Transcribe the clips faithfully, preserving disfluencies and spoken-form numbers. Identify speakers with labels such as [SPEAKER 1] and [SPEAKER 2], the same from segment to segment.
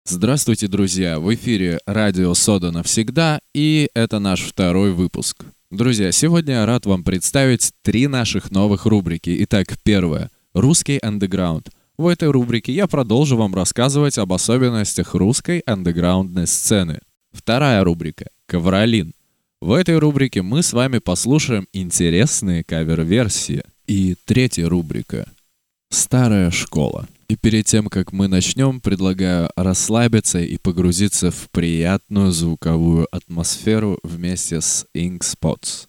[SPEAKER 1] Здравствуйте, друзья! В эфире радио «Сода навсегда», и это наш второй выпуск. Друзья, сегодня я рад вам представить три наших новых рубрики. Итак, первая — «Русский андеграунд». В этой рубрике я продолжу вам рассказывать об особенностях русской андеграундной сцены. Вторая рубрика — «Ковролин». В этой рубрике мы с вами послушаем интересные кавер-версии. И третья рубрика — «Старая школа». И перед тем, как мы начнем, предлагаю расслабиться и погрузиться в приятную звуковую атмосферу вместе с Ink Spots.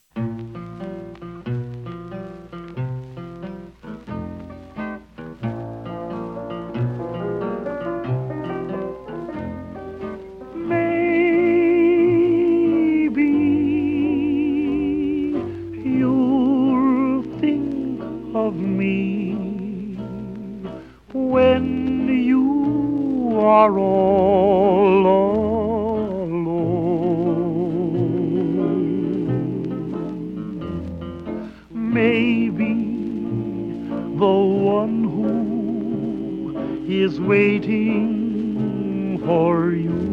[SPEAKER 2] When you are all alone, maybe the one who is waiting for you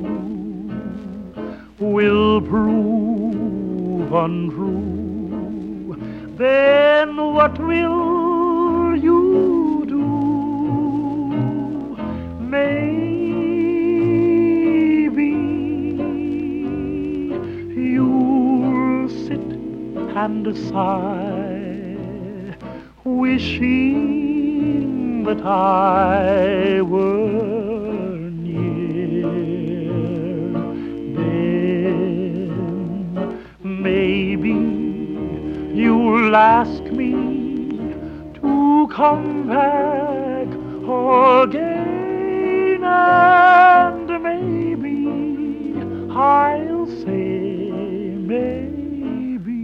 [SPEAKER 2] will prove untrue. Then what will you Maybe you'll sit and sigh, wishing that I were near. Then maybe you'll ask me to come back again. And maybe I'll say maybe.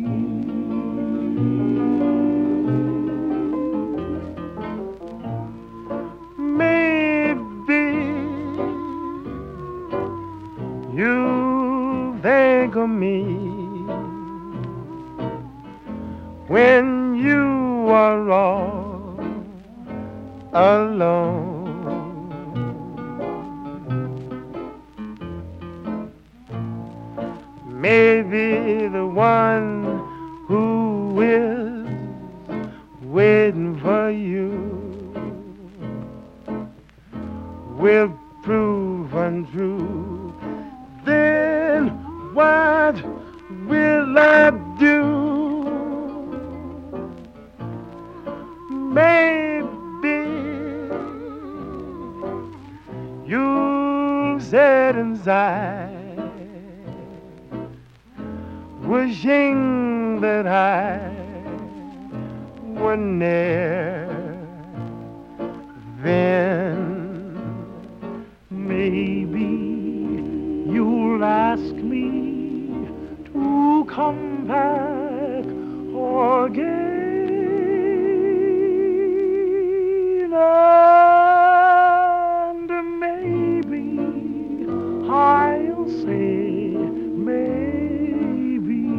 [SPEAKER 2] Maybe you think of me when you are all alone. Maybe the one who is waiting for you will prove untrue. Then what will I do? Maybe you'll sit inside, wishing that I were near. Then maybe you'll ask me to come back again. And maybe I'll say maybe.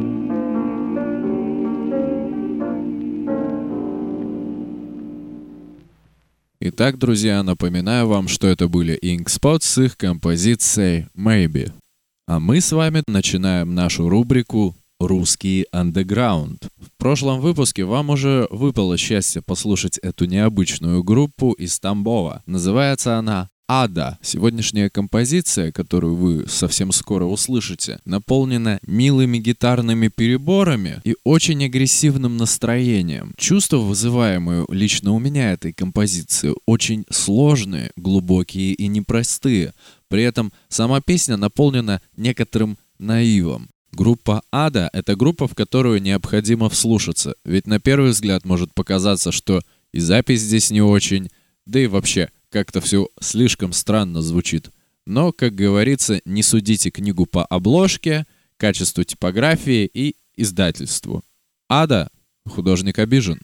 [SPEAKER 1] Итак, друзья, напоминаю вам, что это были Ink Spots с их композицией Maybe. А мы с вами начинаем нашу рубрику «Русский андеграунд». В прошлом выпуске вам уже выпало счастье послушать эту необычную группу из Тамбова. Называется она «Ада». Сегодняшняя композиция, которую вы совсем скоро услышите, наполнена милыми гитарными переборами и очень агрессивным настроением. Чувства, вызываемые лично у меня этой композиции, очень сложные, глубокие и непростые. При этом сама песня наполнена некоторым наивом. Группа «Ада» — это группа, в которую необходимо вслушаться, ведь на первый взгляд может показаться, что и запись здесь не очень, да и вообще как-то все слишком странно звучит. Но, как говорится, не судите книгу по обложке, качеству типографии и издательству. «Ада» — художник обижен.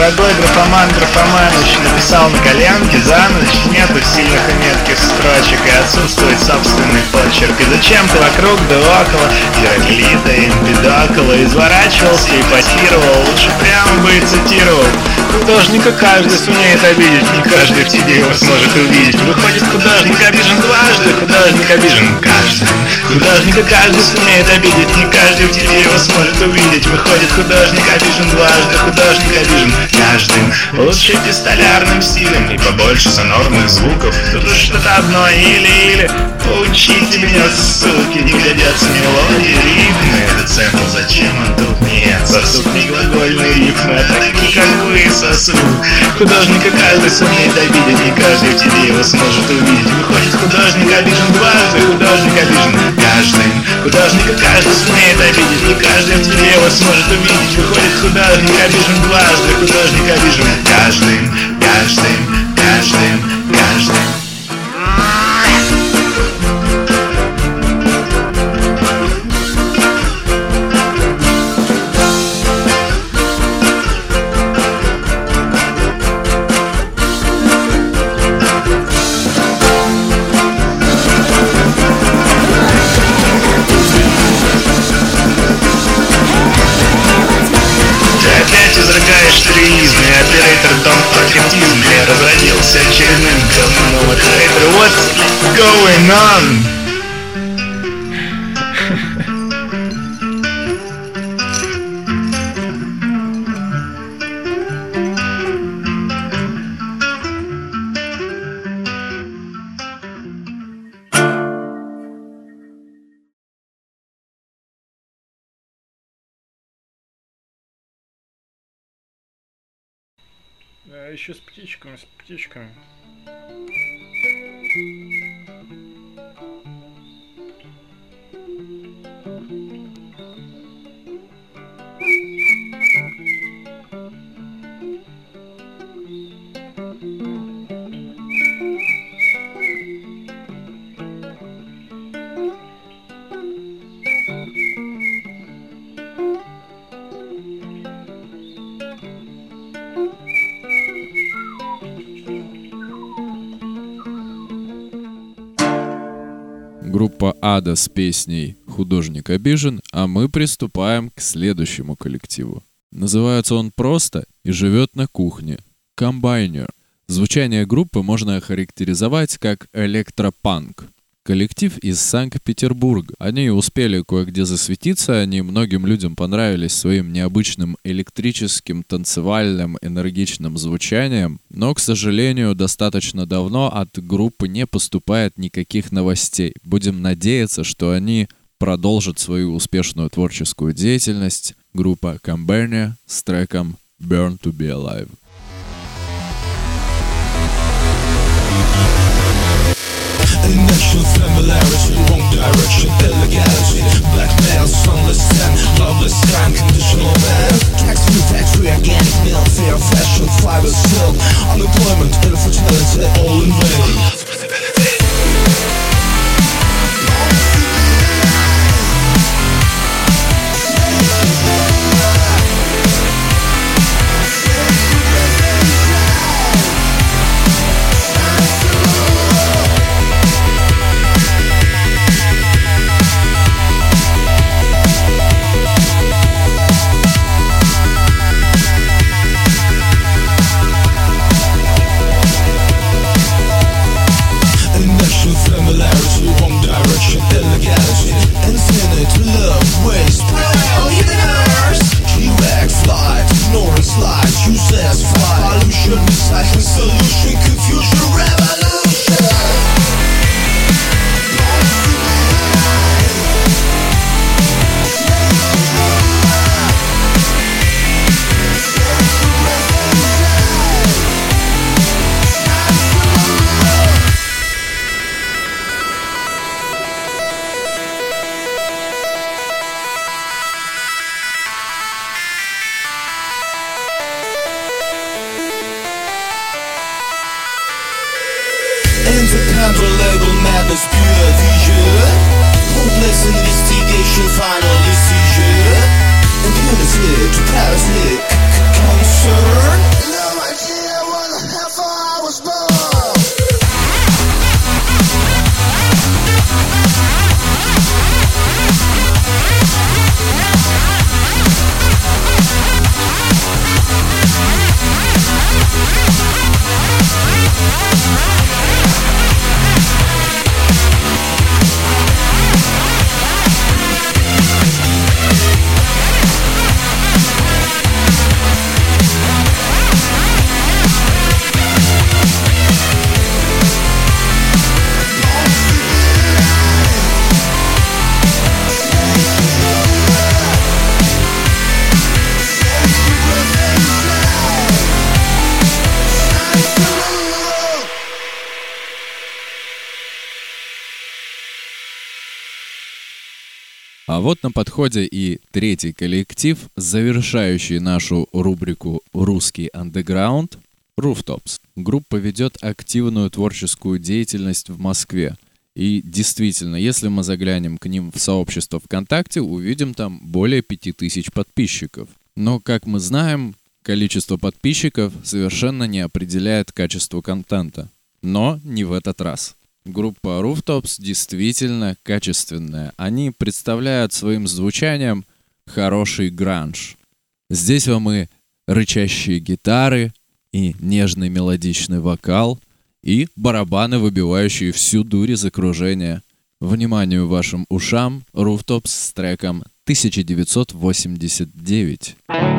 [SPEAKER 3] Дорогой графоман Графоманыч написал на коленке за ночь нету сильных и метких строчек, и отсутствует собственный почерк. И зачем ты вокруг да около Гераклита и Эмпидокла изворачивался и потировал? Лучше прямо бы и цитировал. Художника каждый сумеет обидеть, не каждый в тебе его сможет увидеть. Выходит, художник обижен дважды, художник обижен каждым. Художника каждый сумеет обидеть, не каждый в тебе его сможет увидеть. Выходит, художник обижен дважды, художник обижен каждым. Лучше пистолярным стилем и побольше сонорных звуков. Тут уж что-то одно или-или. Поучите меня, суки, не годятся мелодии, ритмы. Это центр, зачем он тут? Нет, сосуд не глагольные рифмы, а такие, как вы, сосуд. Художника каждый сумеет обидеть, не каждый в тебе его сможет увидеть. Выходит, художник обижен дважды, художник обижен каждым. Художника каждый сумеет обидеть, не каждый в тебе его сможет увидеть. Выходит, художник обижен дважды, художник обижен каждым, каждым, каждым, каждым. Тризм, и оператор Дом Пакетизм разродился очередным говном от хейтера. What's going on?
[SPEAKER 4] Да, еще с птичками, с птичками.
[SPEAKER 1] Группа Ада с песней «Художник обижен», а мы приступаем к следующему коллективу. Называется он просто и живет на кухне. Комбайнер. Звучание группы можно охарактеризовать как электропанк. Коллектив из Санкт-Петербурга. Они успели кое-где засветиться, они многим людям понравились своим необычным электрическим, танцевальным, энергичным звучанием, но, к сожалению, достаточно давно от группы не поступает никаких новостей. Будем надеяться, что они продолжат свою успешную творческую деятельность. Группа Combernia с треком Burn to be Alive.
[SPEAKER 5] Initial familiarity, wrong direction, illegality. Blackmail, sunless sand, loveless crime, conditional man. Tax free, factory, organic meal, fair fashion, fiber silk. Unemployment, infertility, all in vain.
[SPEAKER 1] А вот на подходе и третий коллектив, завершающий нашу рубрику «Русский андеграунд» — Rooftops. Группа ведет активную творческую деятельность в Москве. И действительно, если мы заглянем к ним в сообщество ВКонтакте, увидим там более пяти тысяч подписчиков. Но, как мы знаем, количество подписчиков совершенно не определяет качество контента. Но не в этот раз. Группа Rooftops действительно качественная. Они представляют своим звучанием хороший гранж. Здесь вам и рычащие гитары, и нежный мелодичный вокал, и барабаны, выбивающие всю дурь из окружения. Вниманию вашим ушам, Rooftops с треком тысяча девятьсот восемьдесят девять.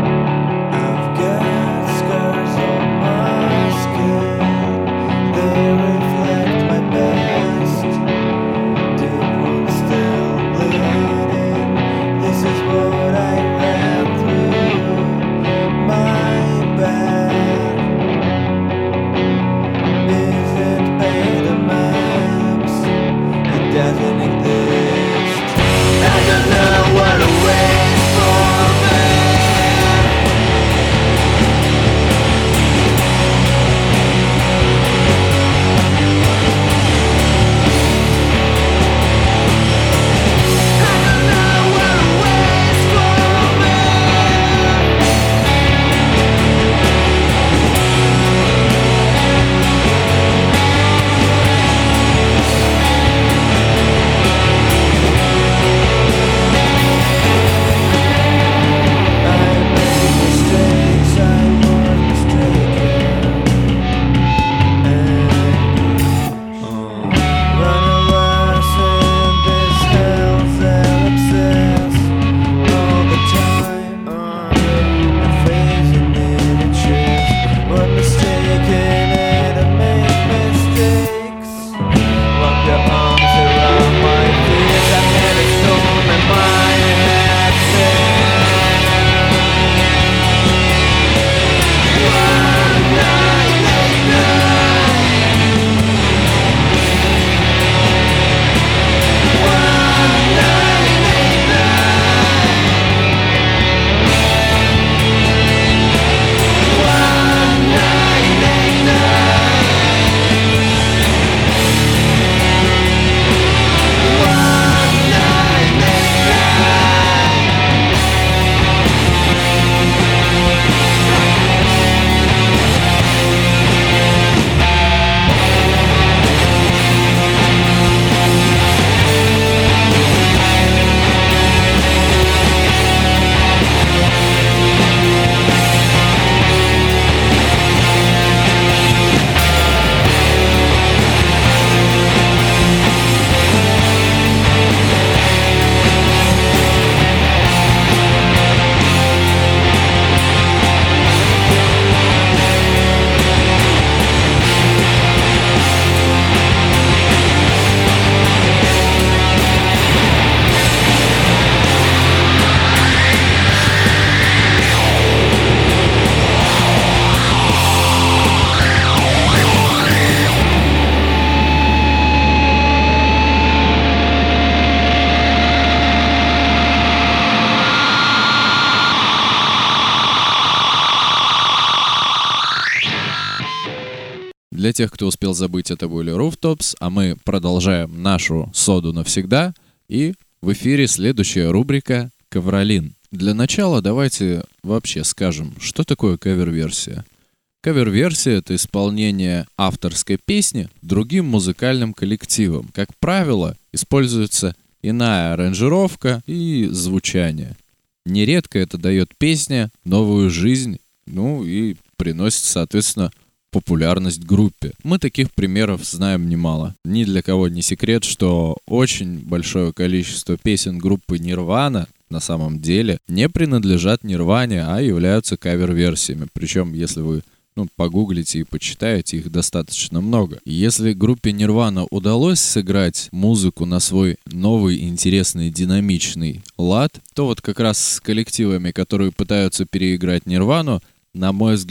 [SPEAKER 1] Для тех, кто успел забыть, это были Rooftops, а мы продолжаем нашу соду навсегда. И в эфире следующая рубрика «Ковролин». Для начала давайте вообще скажем, что такое кавер-версия. Кавер-версия — это исполнение авторской песни другим музыкальным коллективом. Как правило, используется иная аранжировка и звучание. Нередко это дает песне новую жизнь, ну и приносит, соответственно, популярность группе. Мы таких примеров знаем немало. Ни для кого не секрет, что очень большое количество песен группы Nirvana на самом деле не принадлежат Нирване, а являются кавер-версиями. Причем, если вы ну, погуглите и почитаете, их достаточно много. И если группе Nirvana удалось сыграть музыку на свой новый, интересный, динамичный лад, то вот как раз с коллективами, которые пытаются переиграть Нирвану, на мой взгляд,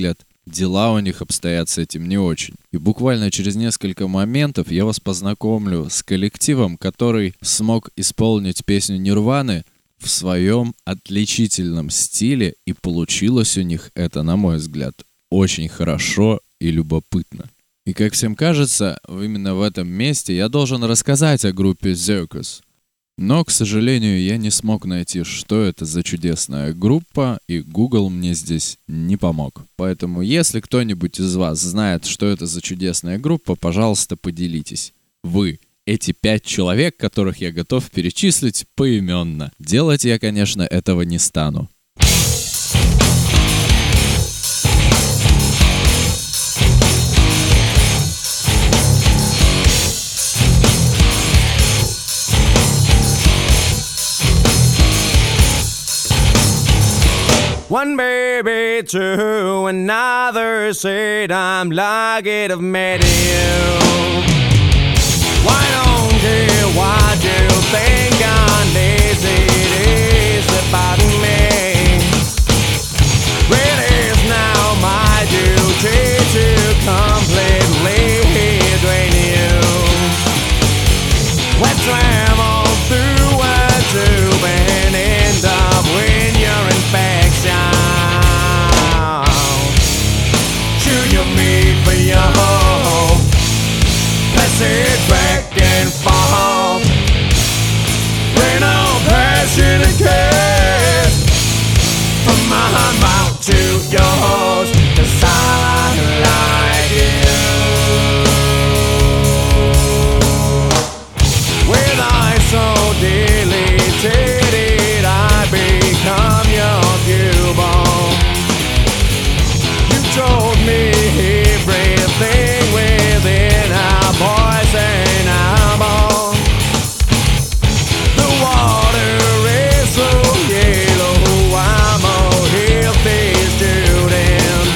[SPEAKER 1] дела у них обстоят с этим не очень. И буквально через несколько моментов я вас познакомлю с коллективом, который смог исполнить песню Нирваны в своем отличительном стиле, и получилось у них это, на мой взгляд, очень хорошо и любопытно. И как всем кажется, именно в этом месте я должен рассказать о группе Circus. Но, к сожалению, я не смог найти, что это за чудесная группа, и Google мне здесь не помог. Поэтому, если кто-нибудь из вас знает, что это за чудесная группа, пожалуйста, поделитесь. Вы, эти пять человек, которых я готов перечислить поименно. Делать я, конечно, этого не стану.
[SPEAKER 6] One baby to another said I'm lucky to have met you. Why don't care what you think I'm lazy, it is about me. It is now my duty to completely drain you. Let's travel through a tube and end up when you're infection. Should you meet for your home? Let's sit back and fall. Rain on passionate kiss from my mouth to yours, 'cause I like you. With eyes so deleted, I become your cubone. You told me everything within our voice and our bone. The water is so yellow, I'm a healthy student,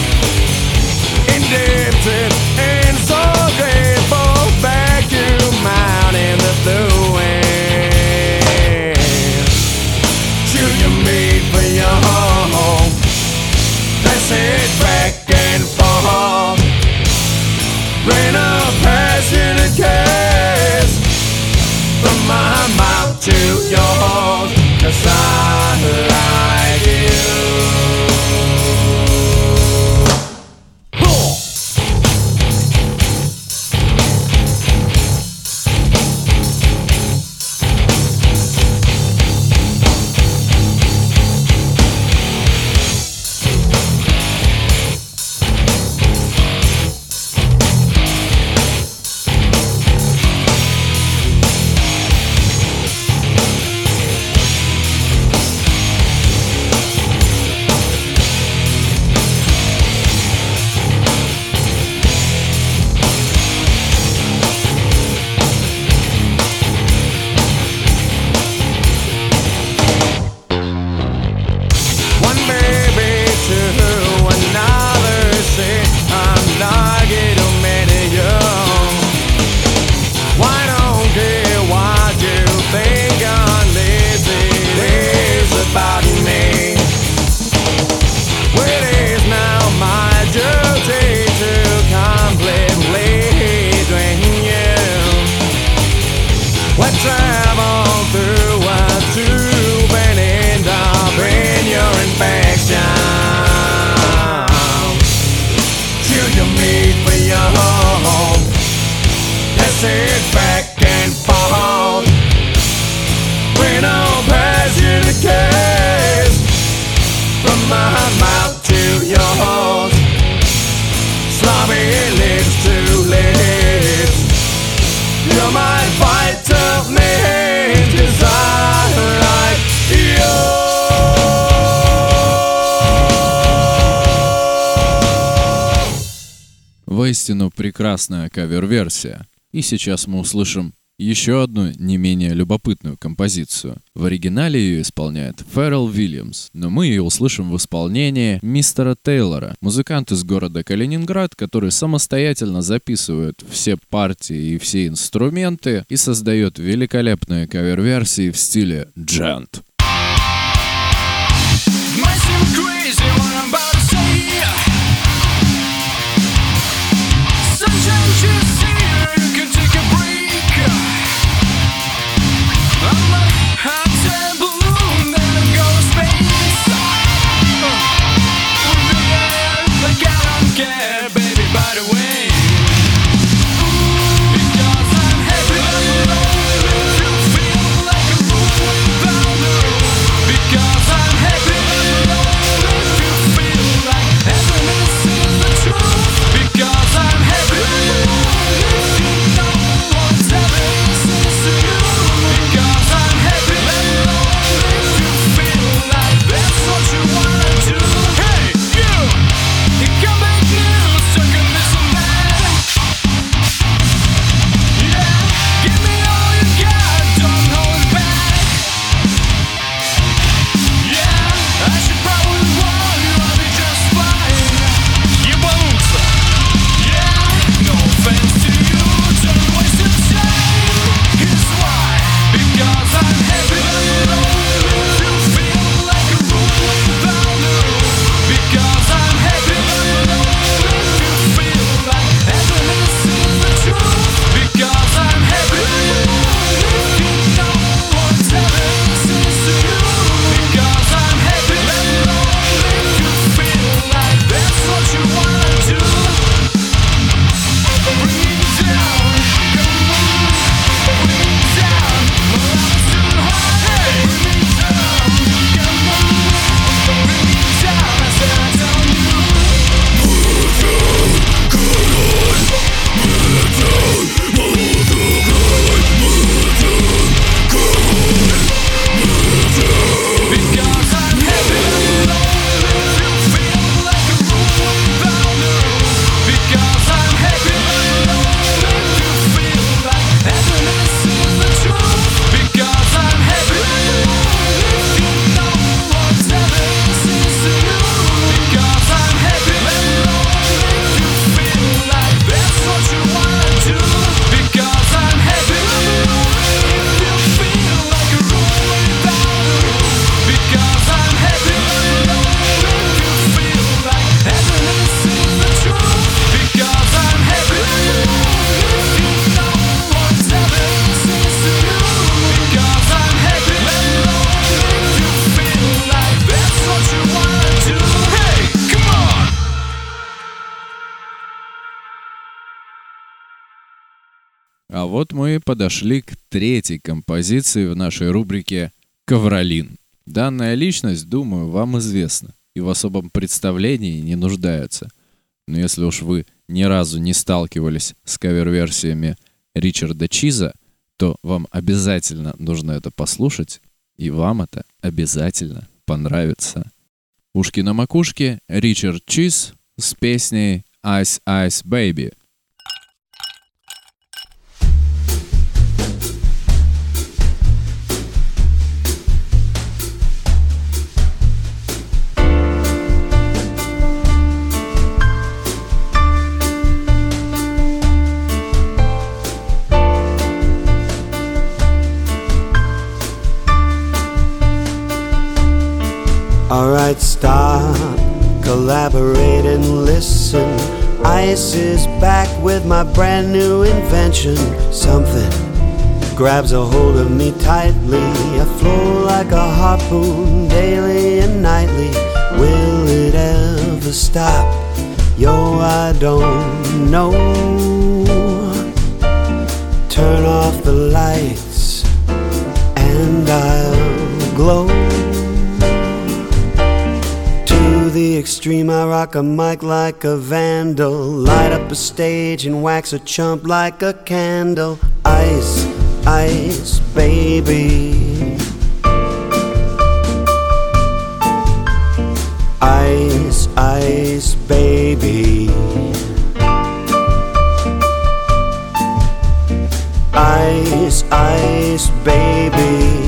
[SPEAKER 6] indebted and so grateful. Vacuum out in the blue air. Should you meet for your home? Let's sit back and forth. Rain a passionate kiss from my mouth to yours, 'cause I like you. Sit back and fall. When all passionate kiss from my mouth to yours. Sloppy lips to lips. You might fight tough men, 'cause I like you.
[SPEAKER 1] Воистину прекрасная кавер-версия. И сейчас мы услышим еще одну не менее любопытную композицию. В оригинале ее исполняет Феррелл Уильямс, но мы ее услышим в исполнении мистера Тейлора, музыкант из города Калининград, который самостоятельно записывает все партии и все инструменты и создает великолепные кавер-версии в стиле джент.
[SPEAKER 5] Might seem crazy what I'm about to say.
[SPEAKER 1] вот мы и подошли к третьей композиции в нашей рубрике «Ковролин». Данная личность, думаю, вам известна и в особом представлении не нуждается. Но если уж вы ни разу не сталкивались с кавер-версиями Ричарда Чиза, то вам обязательно нужно это послушать, и вам это обязательно понравится. Ушки на макушке, Ричард Чиз с песней «Ice Ice Baby».
[SPEAKER 7] Alright, stop, collaborate and listen. Ice is back with my brand new invention. Something grabs a hold of me tightly. I flow like a harpoon daily and nightly. Will it ever stop? Yo, I don't know. Turn off the lights and I'll glow. To the extreme, I rock a mic like a vandal. Light up a stage and wax a chump like a candle. Ice, ice, baby. Ice, ice, baby. Ice, ice, baby.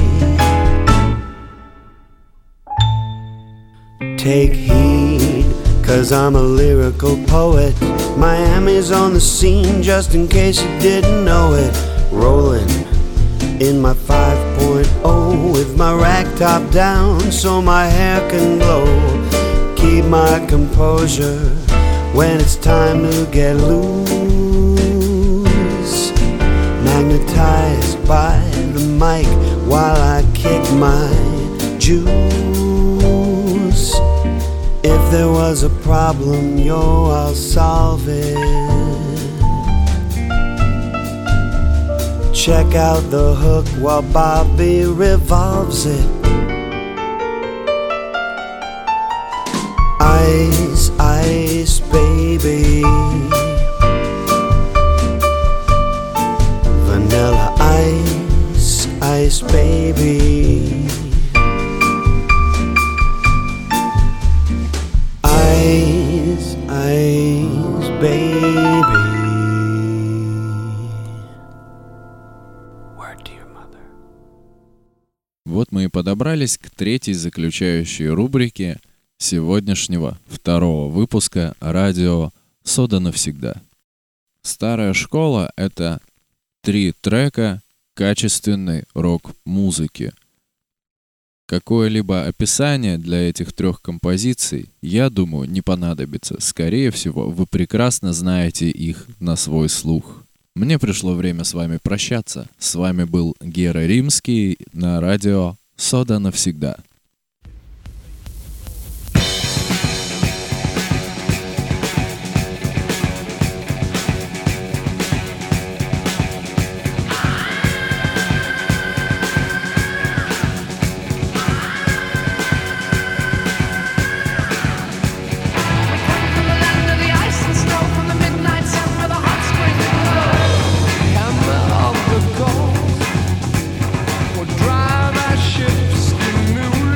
[SPEAKER 7] Take heed, cause I'm a lyrical poet. Miami's on the scene, just in case you didn't know it. Rolling in my five point oh with my rack top down so my hair can glow. Keep my composure when it's time to get loose. Magnetized by the mic while I kick my juice. If there was a problem, yo, I'll solve it. Check out the hook while Bobby revolves it. Ice, ice, baby. Vanilla ice, ice, baby. Ice, ice, baby. Word to your mother.
[SPEAKER 1] Вот мы и подобрались к третьей заключающей рубрике сегодняшнего второго выпуска радио «Сода навсегда». Старая школа — это три трека качественной рок-музыки. Какое-либо описание для этих трех композиций, я думаю, не понадобится. Скорее всего, вы прекрасно знаете их на свой слух. Мне пришло время с вами прощаться. С вами был Гера Римский на радио «Сода навсегда».
[SPEAKER 6] Drive our ships to new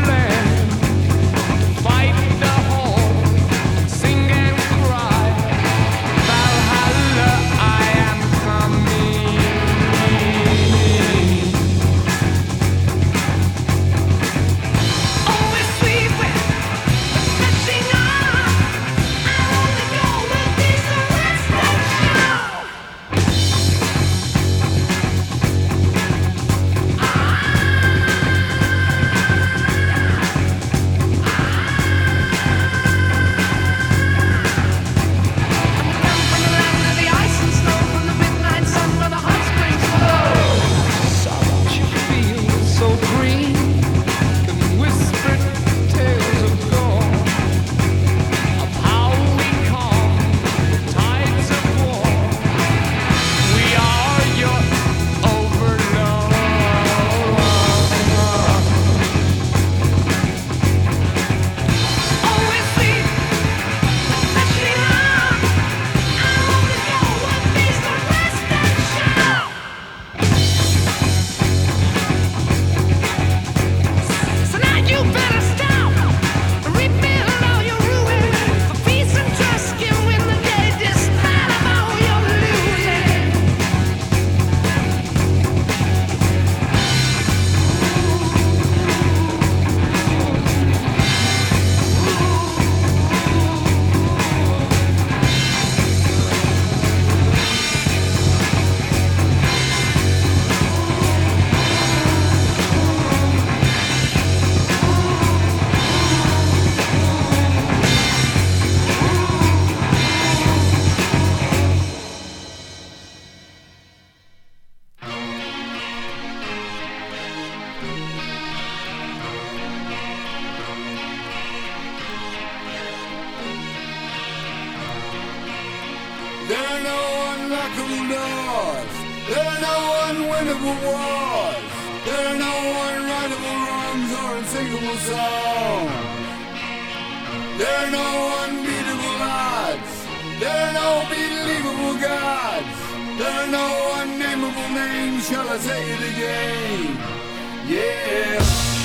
[SPEAKER 6] unbreakable doors. There are no unwinnable wars. There are no unwritable wrongs or unsingable songs. There are no unbeatable odds. There are no believable gods. There are no unnameable names. Shall I say it again? Yeah.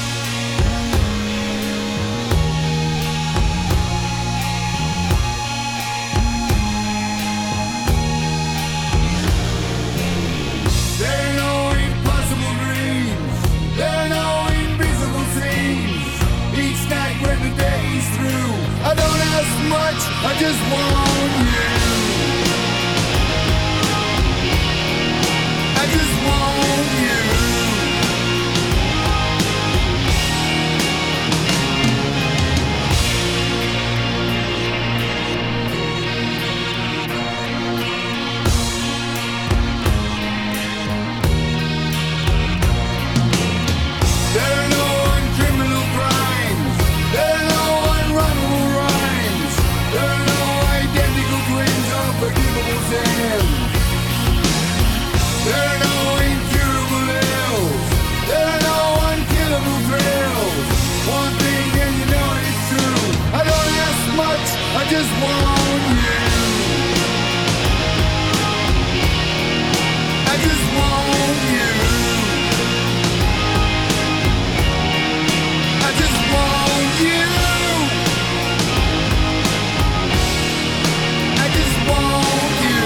[SPEAKER 6] There are no impossible dreams. There are no invisible scenes. Each night when the day is through, I don't ask much, I just want you. I just want you. There are no uncriminal crimes. There are no unrunnable rhymes. There are no identical twins or forgivable sins. There are no incurable ills. There are no unkillable thrills. One thing and you know it's true. I don't ask much, I just want you. I just want you. I just want you. I just want you.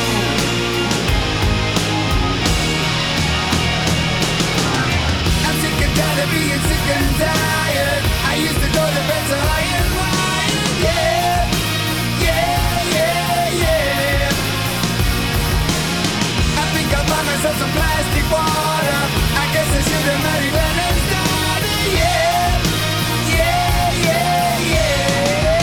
[SPEAKER 6] I'm sick and tired of being sick and tired. I used to go to bed so high and wired. Yeah, yeah, yeah, yeah. I think I'll buy myself some plastic water. I guess I should have married Lennon starter. Yeah, yeah, yeah, yeah.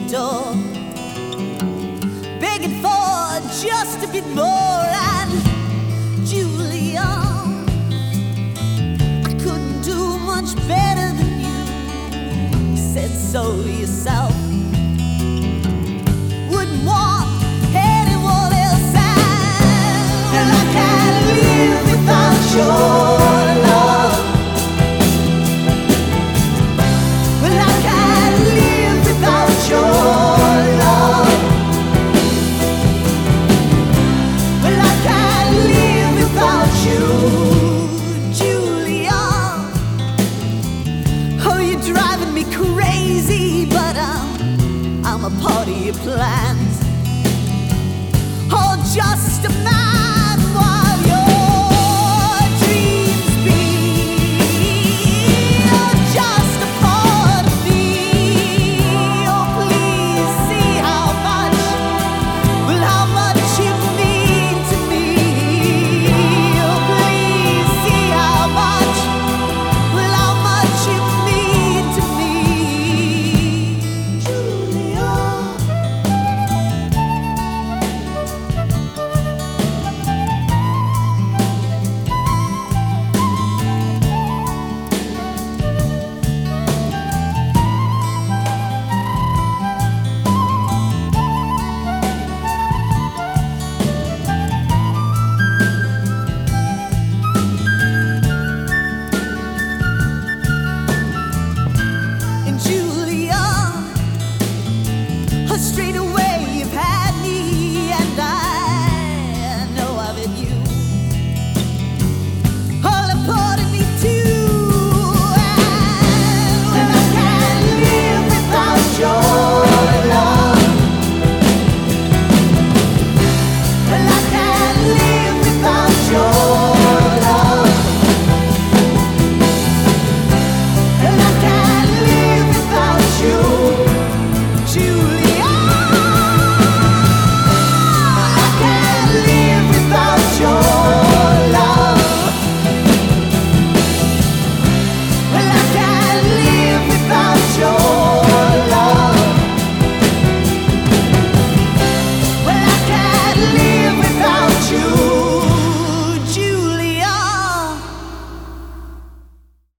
[SPEAKER 8] door, begging for just a bit more. And Julia, I couldn't do much better than you. You said so yourself. Wouldn't want anyone else. And I can't live without your love. Well, I can't live without your love. Well, I can't live without you, Julia. Oh, you're driving me crazy, but I'm, I'm a part of your plans. Oh, just a